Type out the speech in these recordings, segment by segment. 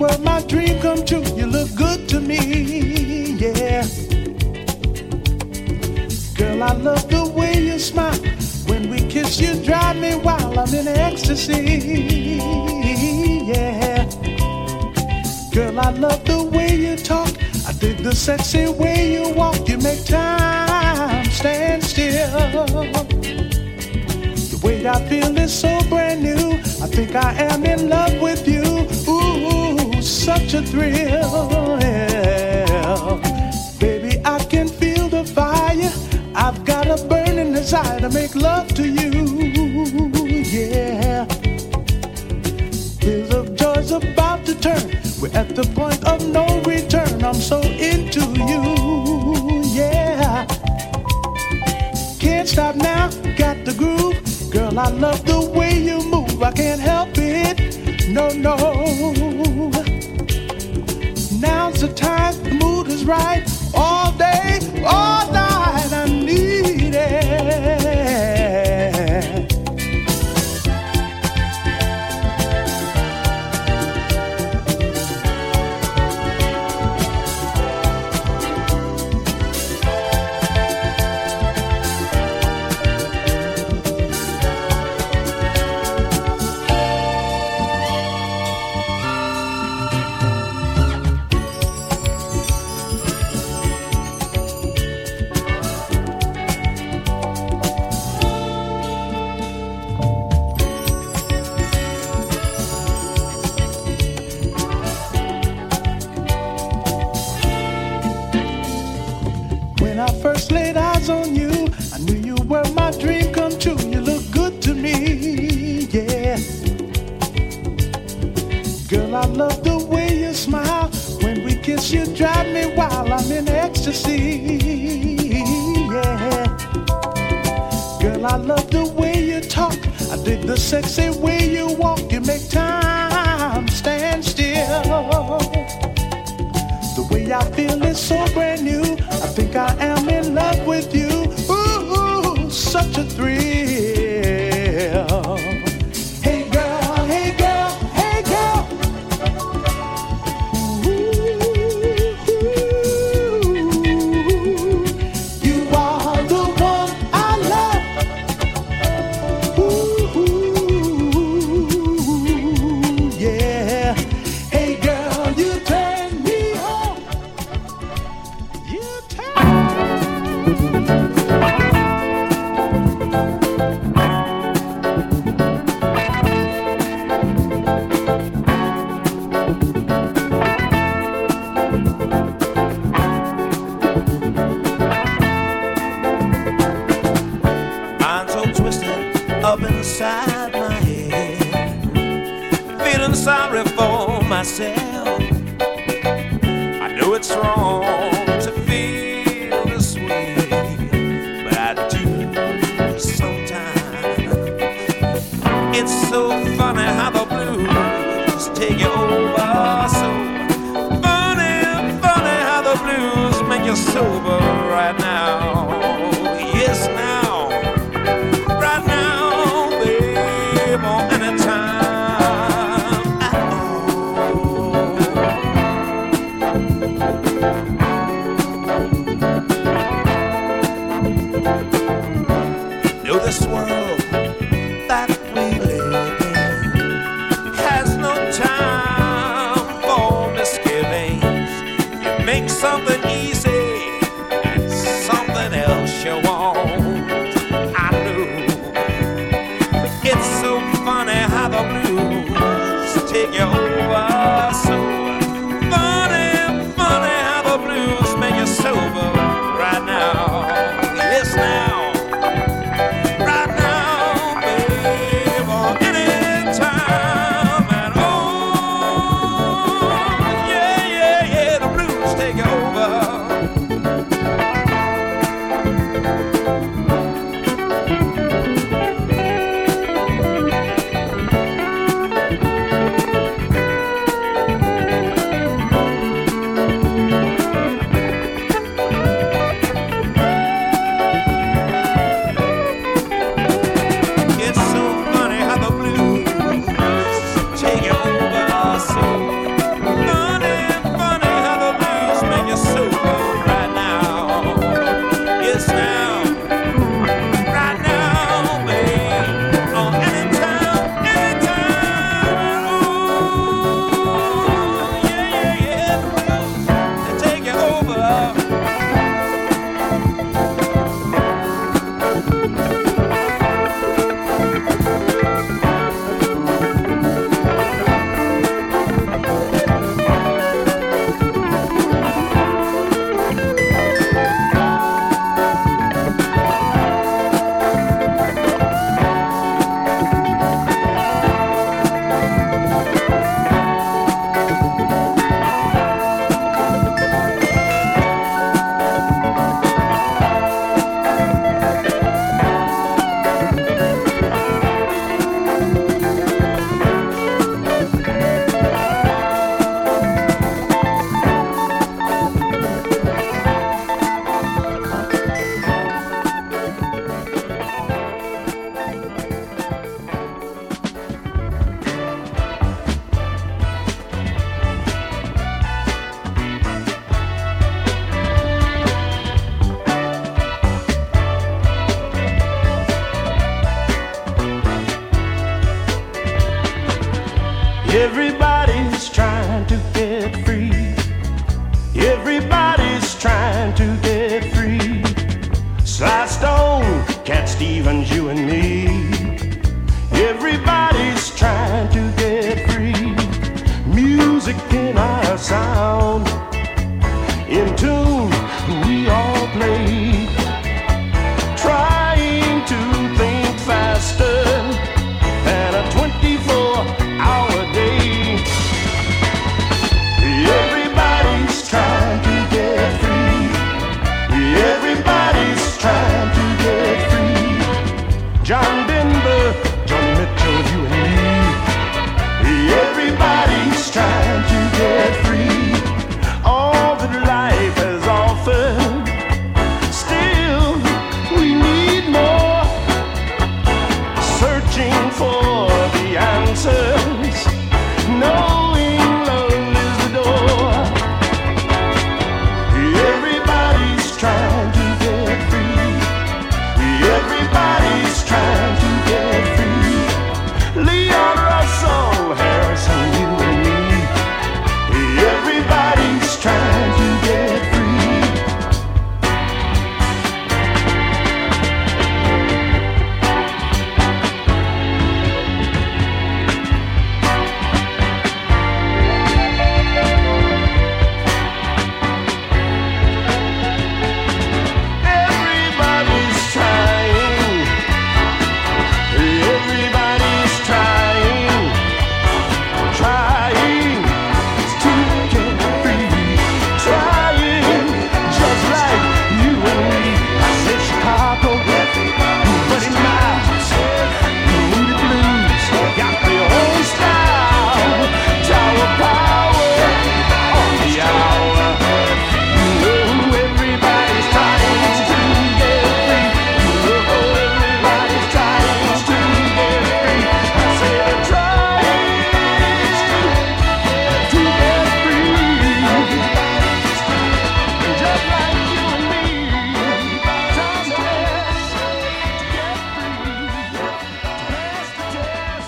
were my dream come true. You look good to me, yeah. Girl, I love the way you smile. When we kiss, you drive me wild. I'm in ecstasy, yeah. Girl, I love the way you talk. I dig the sexy way you walk. You make time stand still. The way I feel is so brand new. I think I am in love with you. Ooh, such a thrill, yeah. Baby, I can feel the fire. I've got a burning desire to make love to you, yeah. Wheels of joy's about to turn. We're at the point of no return. I'm so into you, yeah. Can't stop now, got the groove. Girl, I love the way you move. I can't help it, no, no. Now's the time, the mood is right. All day, all night, I need it. First laid eyes on you, I knew you were my dream come true. You look good to me, yeah. Girl, I love the way you smile. When we kiss, you drive me wild. I'm in ecstasy, yeah. Girl, I love the way you talk. I dig the sexy way you walk. You make time stand still. The way I feel is so brand new. I think I am in love with you. Ooh, such a thrill. Hey girl, hey girl, hey girl. Ooh, you are the one I love. Ooh, yeah. Hey girl, you turn me on. You turn. I'm so twisted up inside my head, feeling sorry for myself. I know it's wrong to feel this way, but I do sometimes. It's so funny how the blues take you over. So funny, funny how the blues make you sober right now. Yes, now. Right now, babe, or anytime at all. Know this world that we live in has no time for misgivings. You make something easy and something else you want. I know it's so funny how the blues take you over. So funny, funny how the blues make you sober right now. Yes, now. Right now, babe, or anytime at all. Yeah, yeah, yeah, the blues take you over. music in our sound. In tune, we all play, trying to think faster than a 24-hour day. Everybody's trying to get free. Everybody's trying to get free. John Denver, Johnny Mitchell, you and me. Everybody's trying to get free. All that life has offered, still we need more. Searching for the answers, knowing love is the door. Everybody's trying to get free. Everybody's trying to get free. Leon Russell, Harrison, you and me. Everybody's trying to get free. Everybody's trying. Everybody's trying. Trying to get free. Trying just like you and me. I said Chicago, Buddy Miles, Moody Blues, got their own style. Tower power on the hour. Everybody's trying to get free. Everybody's trying to get free. I said trying to get free. Just like you and me. Time to dance to get free. Dance to dance.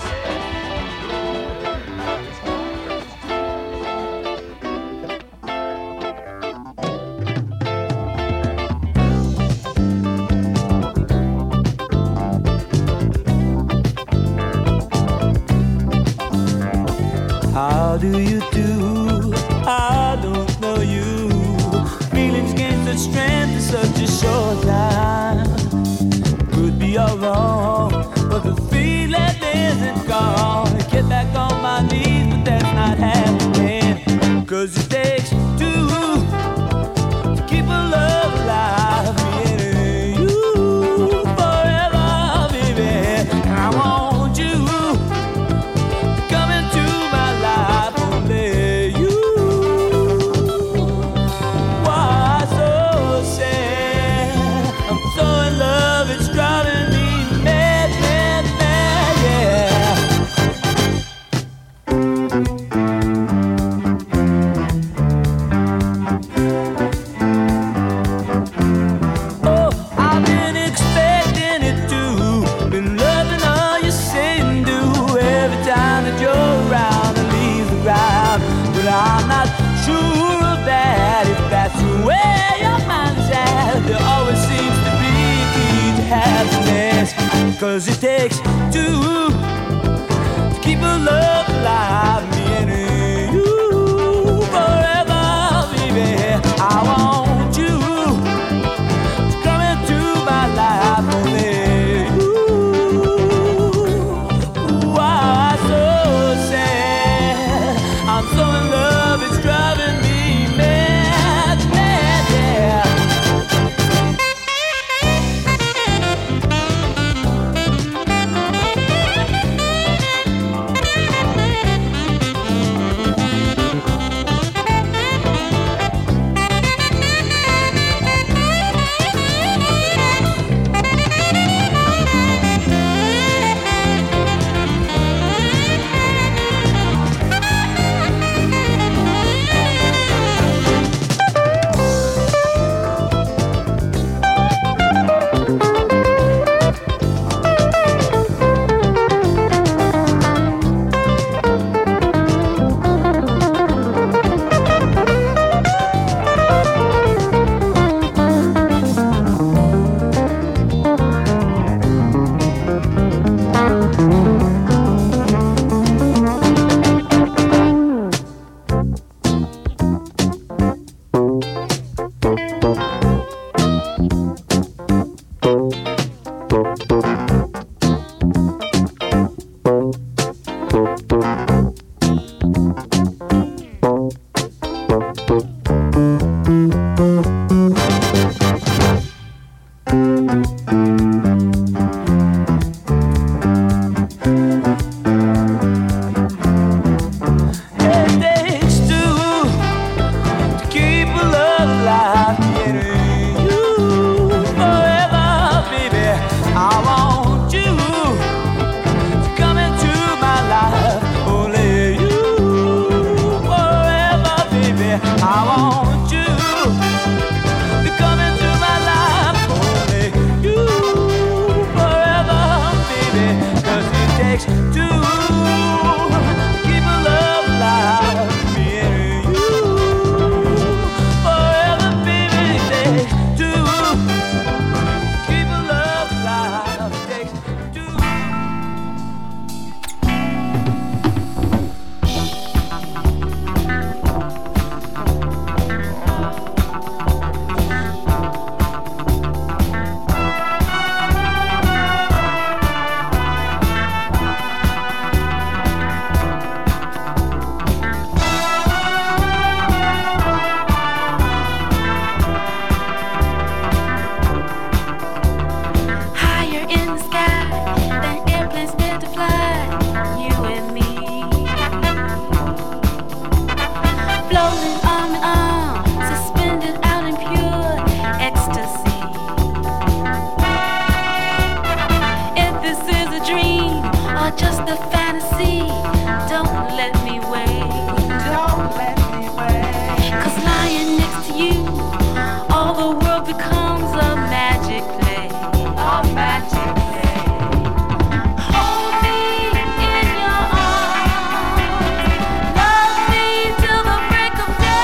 How do you do? I don't know you. Feelings gain such strength in such a short time. Could be all wrong, but the feeling isn't gone. I get back on my knees, but that's not happening. 'Cause it takes two to keep a love alive. Me and you forever, baby. I want you. Come into my life, only you. Why so sad? I'm so in love, it's driving me mad, mad, mad, yeah. Oh, I've been expecting it too. Been loving all you say and do. Every time that you're around, I leave the ground. But I'm not sure of that. If that's where your mind's at, there always seems to be a key to happiness. 'Cause it takes two to keep a love alive. Me and you forever, baby. I want you to come into my life, only you. Why so sad? I'm so in love, it's driving me mad, mad, yeah. floating arm in arm, suspended out in pure ecstasy. If this is a dream or just a fantasy, don't let me wait. Don't let me wait. 'Cause lying next to you, all the world becomes a magic play. A magic play. Hold me in your arms, love me till the break of day.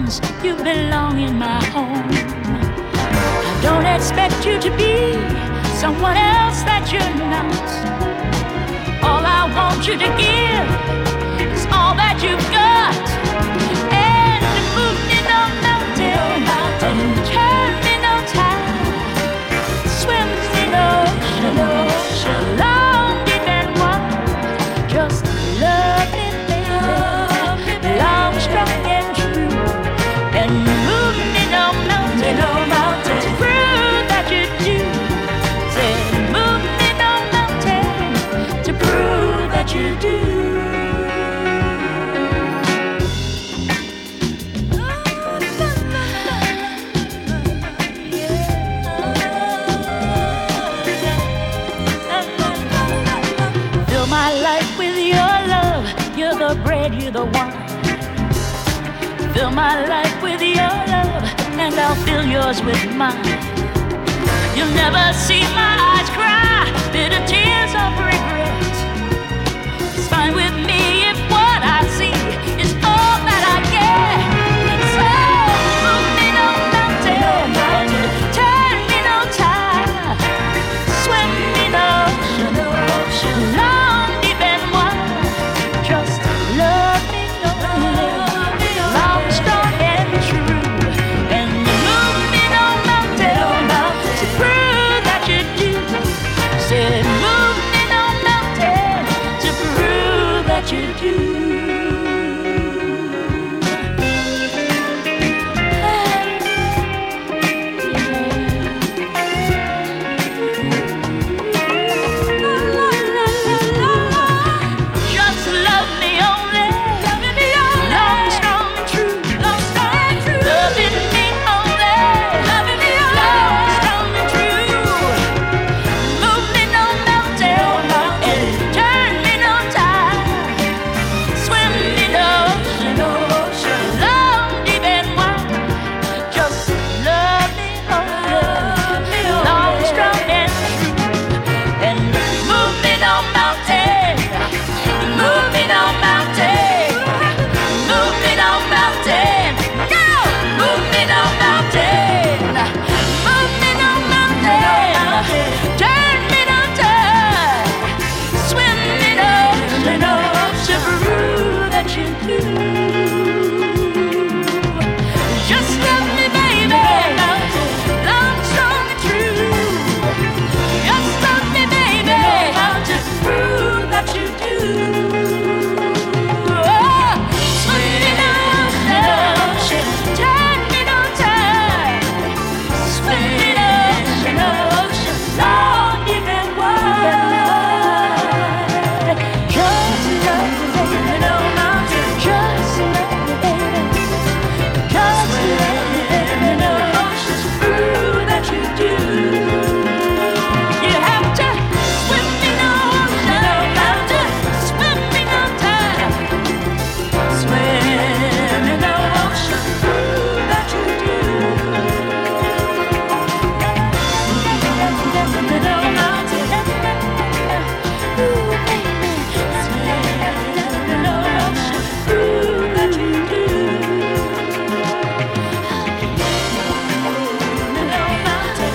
arms, you belong in my home. I don't expect you to be someone else that you're not. All I want you to give is all that you've got. And move me no mountain, turn me no tide, swim me no ocean, long, deep and wide. Just love me, baby, long, strong and true. And move me no mountain, to prove that you do. Say, move me no mountain, to prove that you do. Fill my life with your love. You're the bread, you're the wine. Fill my life with your love, and I'll fill yours with mine. You'll never see my eyes cry bitter tears of regret. It's fine with me if what I see is all that I get. So move me no mountain, turn me no tide, swim me no ocean, long, deep and wide. Just love me only, long, strong and true. And move me no mountain, to prove that you do. Said move me no mountain, to prove that you do. Just love me only, long, strong and true. Loving me only, long, strong and true. Move me no mountain, and turn me no tide, swim me no ocean, long, deep and wide. Just love me only, long, strong and true. And move me no mountain, move me no mountain, move me no mountain, no, move me no mountain, move me no mountain, turn me no tide, swim me no ocean, prove that you do. Just love me, baby, long, strong and true. Just love me, baby, to prove that you do. Oh, swim me no ocean, turn me no tide, swim me no ocean, long, deep and wide. Just love me, baby, no mountain. Just love me, baby. Just love me, baby, no ocean, prove that you do. You have to swim me no ocean, have to swim me no tide, swim me no ocean, prove that you do. No mountain, ooh, baby, swim me no ocean, prove that you do. No mountain,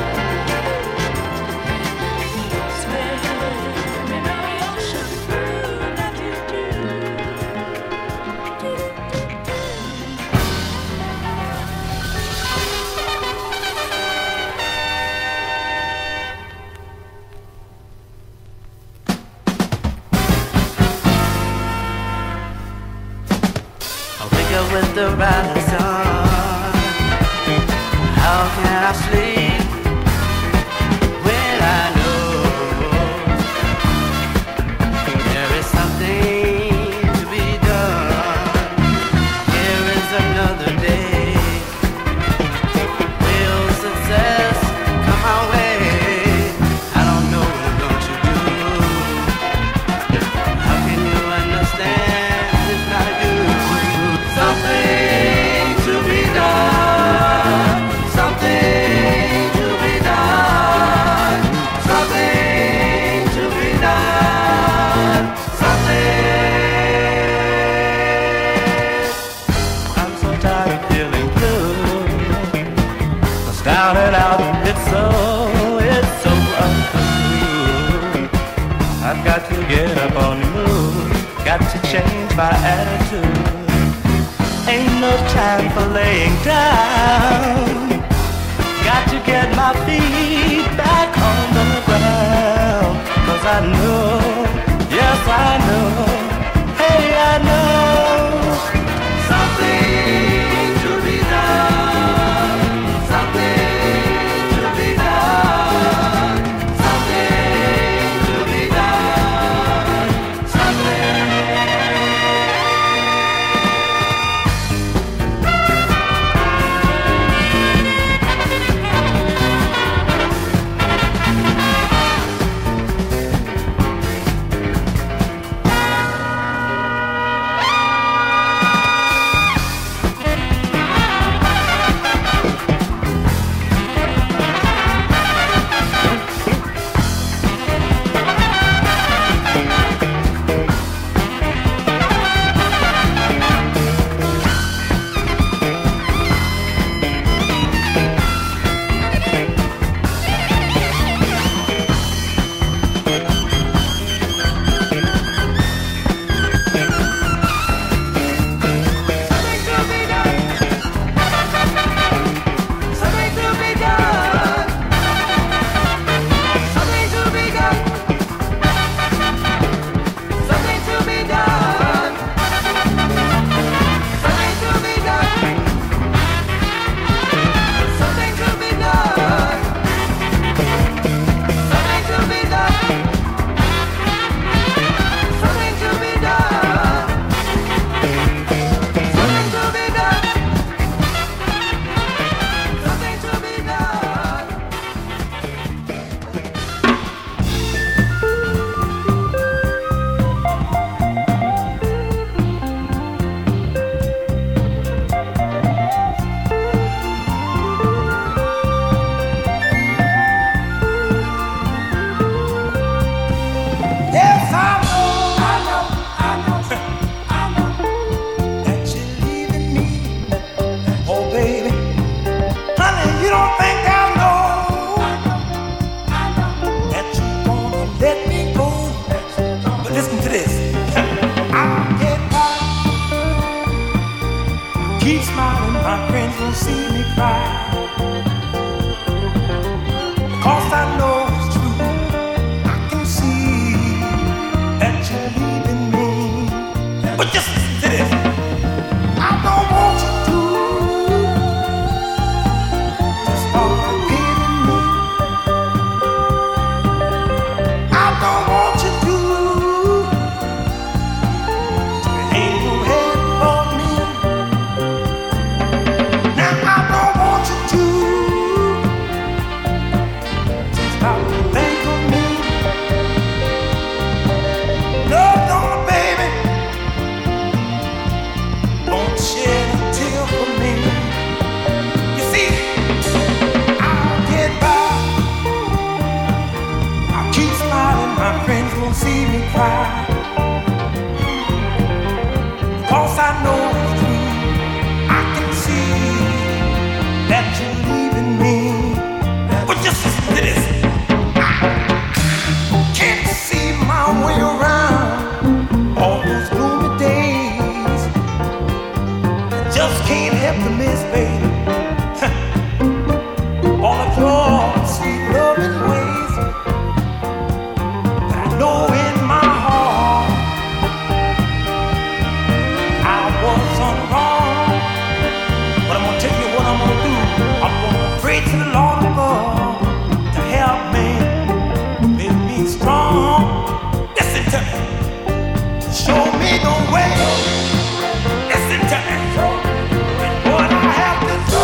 swim me no ocean, prove that you do. I wake up with the rising sun. How can I sleep when I know there is something to be done? Here is another day. Will success come my way? I don't know, don't you do? How can you understand if not you? Something to be done, something down and out. It's so untrue. I've got to get up on the move. Got to change my attitude. Ain't no time for laying down. Got to get my feet back on the ground. 'Cause I know, yes I know, hey I know something to be done, something to be done, something to be done, something. Show me the way. Listen to me. And what I have to do.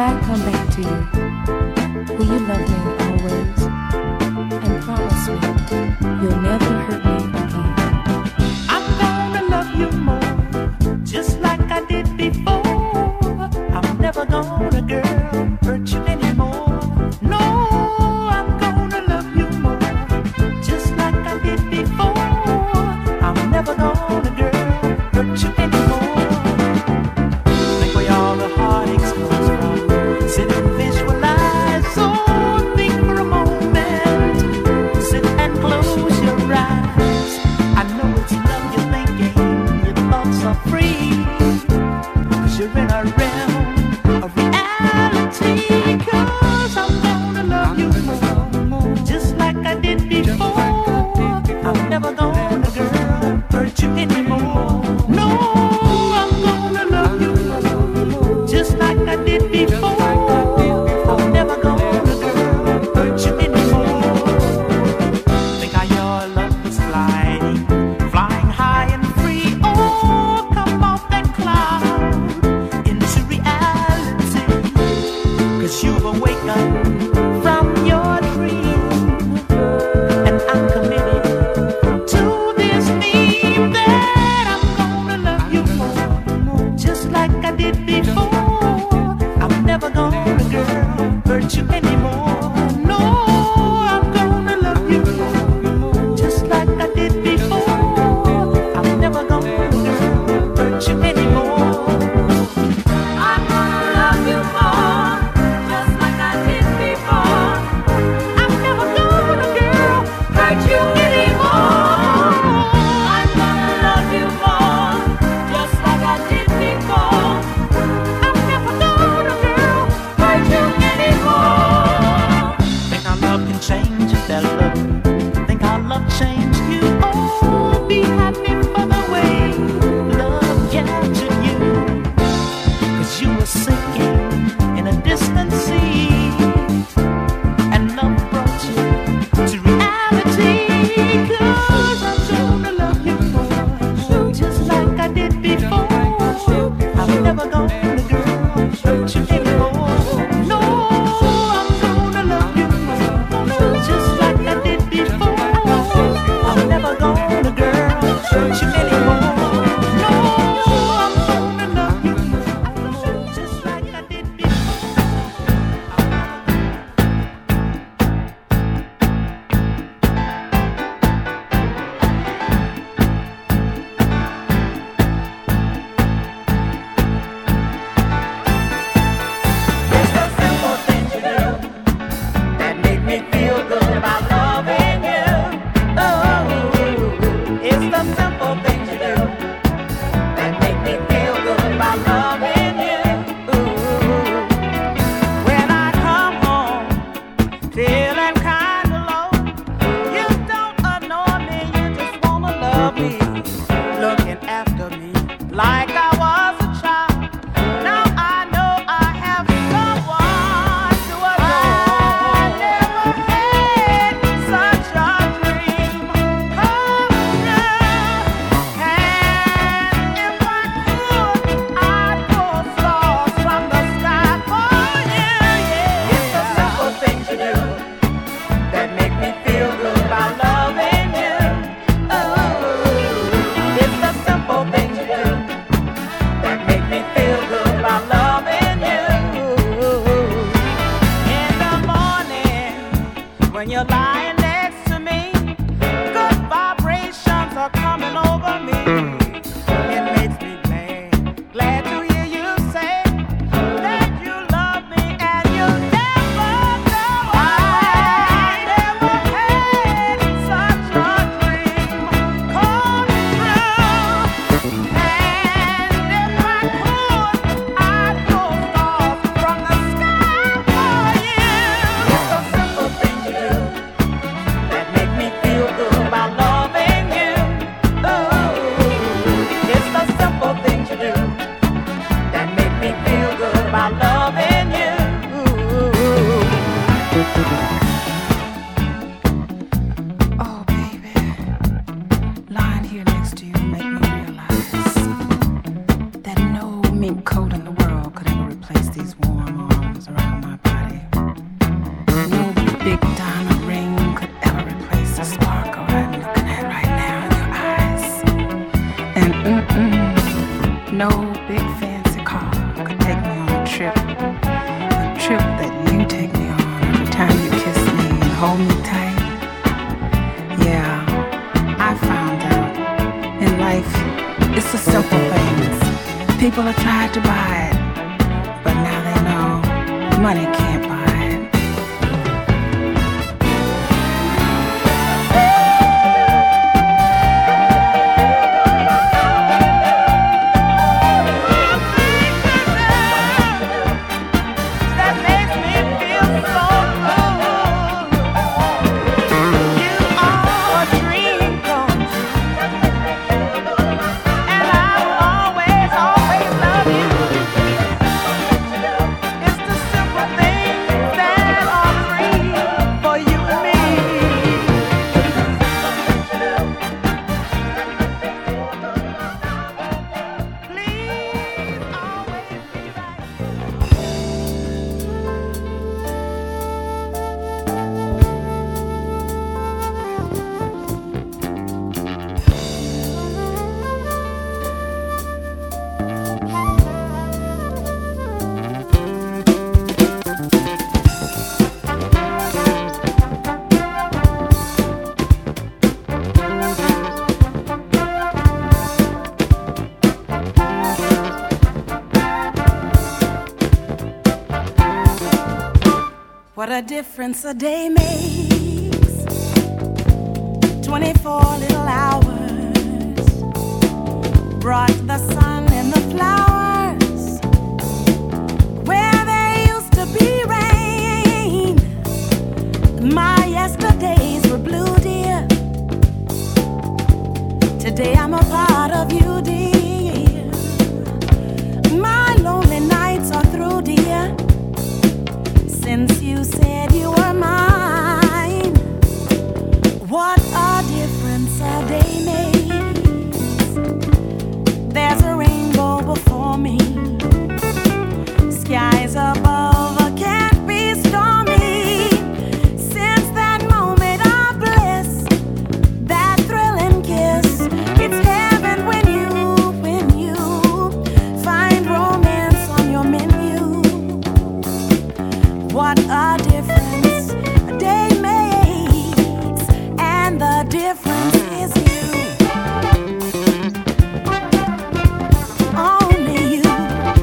I come back to you, will you love me always? And promise me you'll never hurt me again. I'm gonna love you more, just like I did before. I'm never gonna, girl, hurt you anymore. No, I'm gonna love you more, just like I did before. I'm never gonna, girl, hurt you anymore. Think where all the heartaches comes from. Sit and visualize, so think for a moment. Sit and close your eyes. I know it's love you're thinking, your thoughts are free, 'cause you're in a realm of reality. 'Cause I'm gonna love you more, just like I did before. I'm never gonna, girl, hurt you anymore. No, I'm gonna love you more, just like I did before. I'm never gonna, girl, hurt you anymore. Think how your love is flying high and free. Oh, come off that cloud into reality, 'cause you've awakened from your dream. And I'm committed to this theme that I'm gonna love you more, just like I did before. I'm never gonna, girl, hurt you anymore. No, I'm gonna love you more, just like I did before. I'm never gonna, girl, hurt you anymore. I'm gonna love you more, just like I did before. I'm never gonna, girl, Hurt you anymore. I'm gonna love you more, just like I did before. I'm never gonna, girl, Hurt you anymore. think our love can change if that love. Think our love changed you. Oh, be happy for the way love captured you. 'Cause you were sinking in a distant sea, and love brought you to reality. 'Cause I'm gonna love you more, just like I did before. I'm never gonna, girl, hurt you anymore. No, I'm gonna love you more, just like I did before. I'm never gonna, girl, hurt you anymore. No, I'm gonna love you more, just like I did before. It's the simple things you do that make me feel good about loving you. Oh, it's the simple things you do that make me feel good about loving you. When I come home feeling kind of low, you don't annoy me, you just wanna love me, looking after me like I was a child. Now I know I have someone to adore. I never had such a dream come true. And if I could, I'd pull stars from the sky for you. Yeah. It's the simple things you do that make me feel good about loving you. Oh, it's the simple things you do that make me feel good about loving you. In the morning, when you're lying next to me, good vibrations are coming over me. It makes me glad to hear you say that you love me and you never know. I never had such a dream come true. And if I could, I'd pull stars from the sky for you. It's the simple things you do that make me feel good about loving you. Oh, people have tried to buy it, but now they know money can't buy it. That makes me feel so good. You are a dream come true, and I will always, always love you. It's the simple things that are free for you and me. Please always be right. What a difference a day makes. 24 little hours brought the sun and the flowers where there used to be rain. My yesterdays were blue, dear. Today I'm a part of you, dear. My lonely nights are through, dear. Since you said you were mine, what a difference a day makes. There's a rainbow before me. Skies above can't be stormy. Since that moment of bliss, that thrilling kiss, it's heaven when you find romance on your menu. What a difference a day makes, and the difference is you. Only you.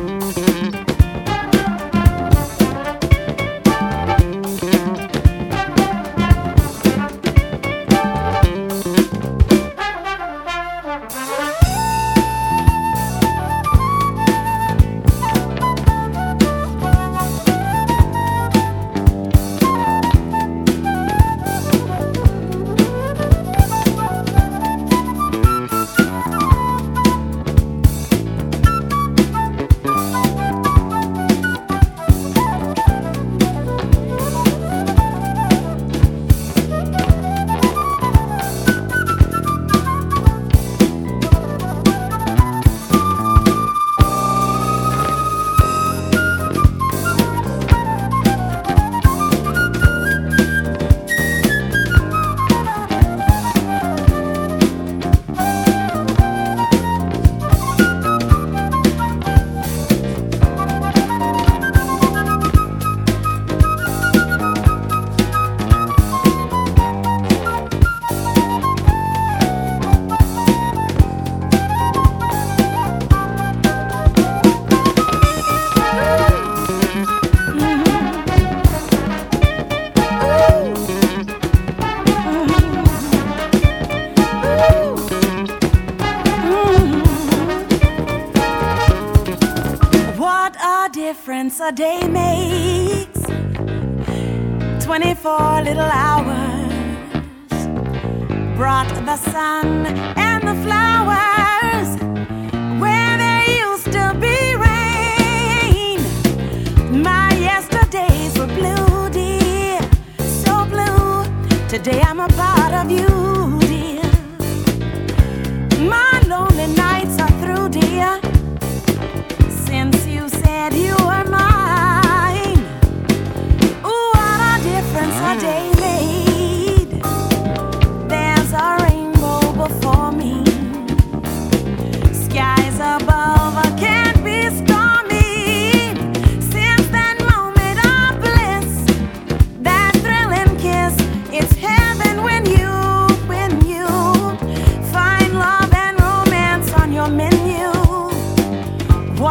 What a difference a day makes. 24 little hours brought the sun and the flowers where there used to be rain. My yesterdays were blue, dear, so blue. Today I'm a part of you, dear. My lonely nights are through, dear. Since you said you were mine, ooh, what a difference a day made. There's a rainbow before me. Skies above can't be stormy. Since that moment of bliss, that thrilling kiss, it's heaven when you find love and romance on your menu.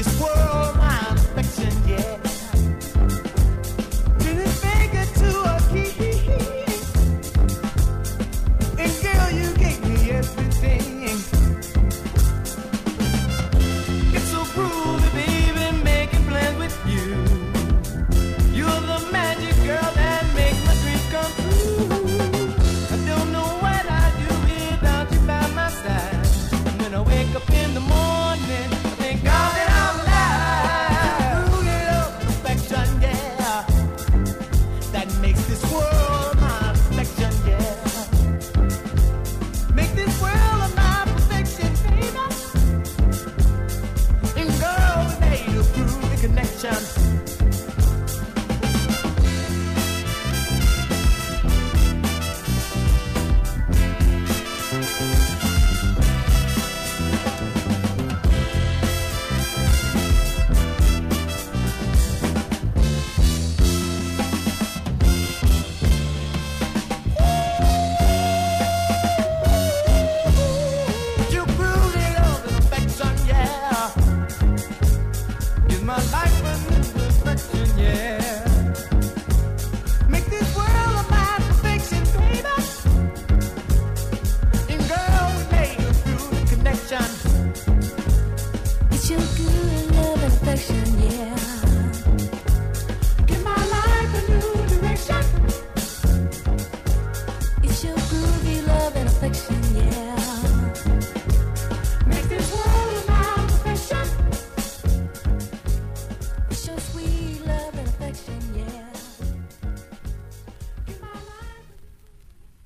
this world my affection, yeah. Turn his finger to a key, and girl, you gave me everything. It's so groovy, baby, making plans with you. You're the magic girl that makes my dreams come true. I don't know what I'd do without you by my side. When I wake up in the morning, I thank God that I'm alive. Truly love, perfection, yeah. That makes this world my affection, yeah. Make this world my perfection, baby. And girl, we made a groovy connection.